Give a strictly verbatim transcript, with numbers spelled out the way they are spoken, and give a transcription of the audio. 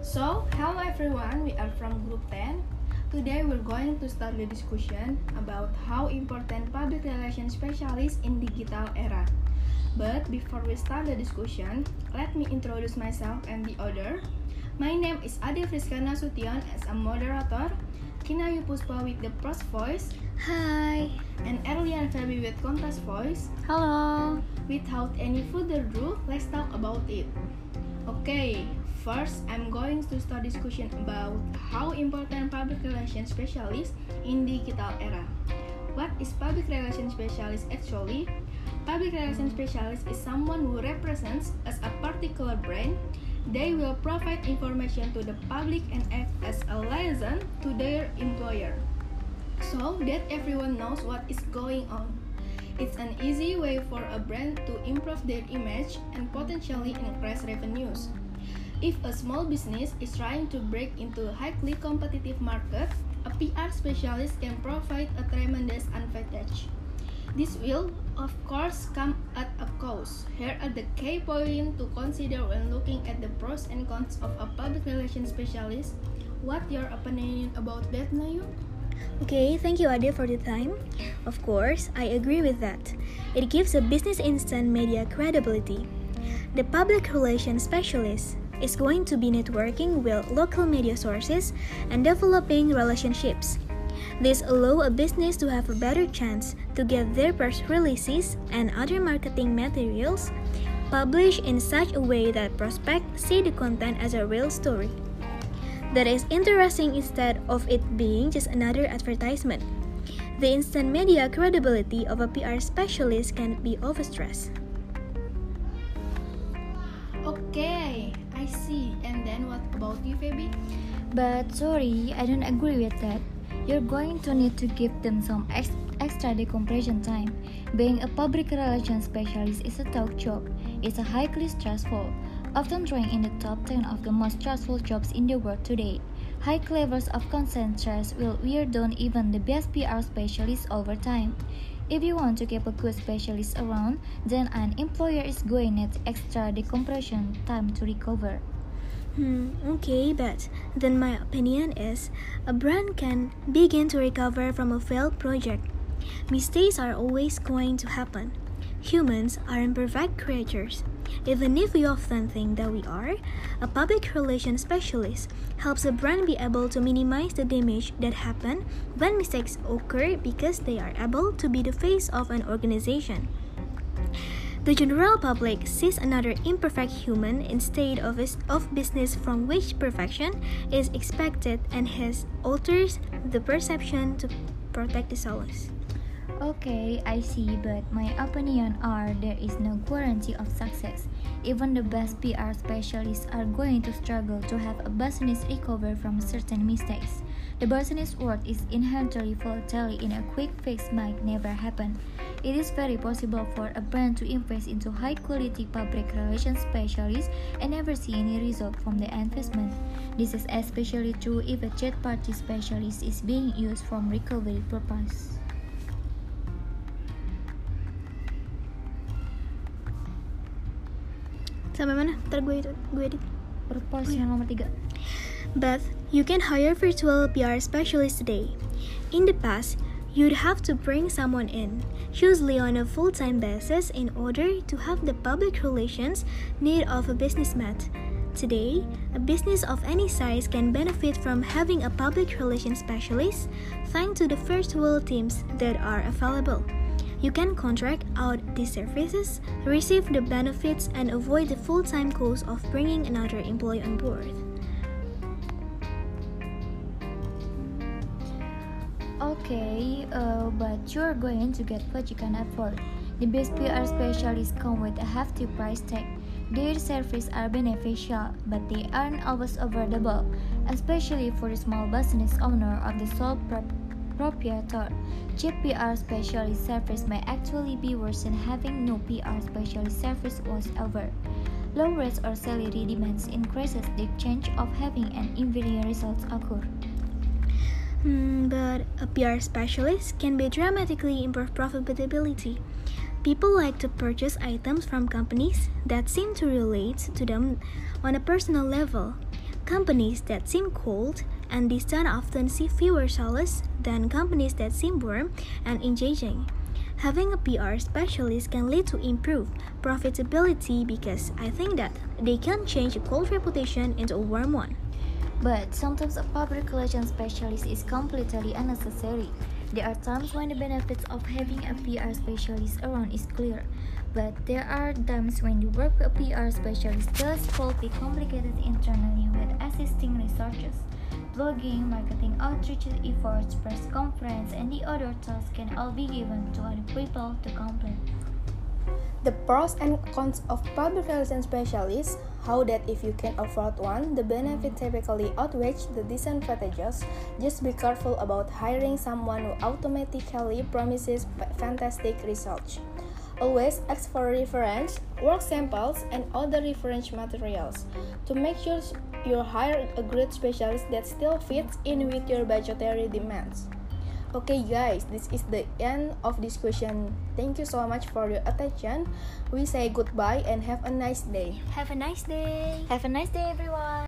So, hello everyone, we are from Group ten. Today we're going to start the discussion about how important public relations specialists in digital era. But before we start the discussion, let me introduce myself and the other. My name is Ade Friska Nasution as a moderator, Kinayu Puspa with the pros voice, Hi. and Erlian Feby with contrast voice. Hello. Without any further ado, let's talk about it. Okay, first I'm going to start discussion about how important public relations specialist in digital era. What is public relations specialist actually? Public relations specialist is someone who represents as a particular brand. They will provide information to the public and act as a liaison to their employer, so that everyone knows what is going on. It's an easy way for a brand to improve their image and potentially increase revenues. If a small business is trying to break into a highly competitive market, a P R specialist can provide a tremendous advantage. This will, of course, come at a cost. Here are the key points to consider when looking at the pros and cons of a public relations specialist. What your opinion about that, Nayu? Okay, thank you Ade for the time. Of course, I agree with that. It gives a business instant media credibility. The public relations specialist is going to be networking with local media sources and developing relationships. This allows a business to have a better chance to get their press releases and other marketing materials published in such a way that prospects see the content as a real story that is interesting instead of it being just another advertisement. The instant media credibility of a P R specialist can be overstressed. Okay, I see. And then what about you, Feby? But sorry, I don't agree with that. You're going to need to give them some ex- extra decompression time. Being a public relations specialist is a tough job. It's a highly stressful, often ranked in the top ten of the most stressful jobs in the world today. High levels of constant stress will wear down even the best P R specialists over time. If you want to keep a good specialist around, then an employer is going to need extra decompression time to recover. Hmm, okay, but then my opinion is a brand can begin to recover from a failed project. Mistakes are always going to happen. Humans are imperfect creatures. Even if we often think that we are, a public relations specialist helps a brand be able to minimize the damage that happen when mistakes occur because they are able to be the face of an organization. The general public sees another imperfect human instead of, a, of business from which perfection is expected, and hence alters the perception to protect the solace. Okay, I see, but my opinion are there is no guarantee of success. Even the best P R specialists are going to struggle to have a business recover from certain mistakes. The business world is inherently volatile, and a quick fix might never happen. It is very possible for a brand to invest into high-quality public relations specialists and never see any result from the investment. This is especially true if a third-party specialist is being used for recovery purposes. Sampai mana? Ntar gue itu, gue edit. Purpose yang nomor tiga. But you can hire virtual P R specialists today. In the past, you'd have to bring someone in, usually on a full-time basis, in order to have the public relations need of a businessman. Today, a business of any size can benefit from having a public relations specialist thanks to the virtual teams that are available. You can contract out these services, receive the benefits, and avoid the full-time cost of bringing another employee on board. Okay, uh, but you're going to get what you can afford. The best P R specialists come with a hefty price tag. Their services are beneficial, but they aren't always affordable, especially for the small business owner or the sole prop- proprietor. Cheap P R specialist service may actually be worse than having no P R specialist service whatsoever. Low rates or salary demands increases the chance of having an inferior results occur. Hmm, but a P R specialist can be dramatically improve profitability. People like to purchase items from companies that seem to relate to them on a personal level. Companies that seem cold and distant often see fewer sales than companies that seem warm and engaging. Having a P R specialist can lead to improved profitability because I think that they can change a cold reputation into a warm one. But sometimes a public relations specialist is completely unnecessary. There are times when the benefits of having a P R specialist around is clear, but there are times when the work of a P R specialist just could be complicated internally with assisting researchers. Blogging, marketing outreach efforts, press conference, and the other tasks can all be given to other people to complete. The pros and cons of public relations specialists: how that if you can afford one, the benefit typically outweighs the disadvantages. Just be careful about hiring someone who automatically promises fantastic results. Always ask for reference, work samples, and other reference materials to make sure you hire a great specialist that still fits in with your budgetary demands. Okay guys, this is the end of this question. Thank you so much for your attention. We say goodbye and have a nice day. Have a nice day. Have a nice day, everyone.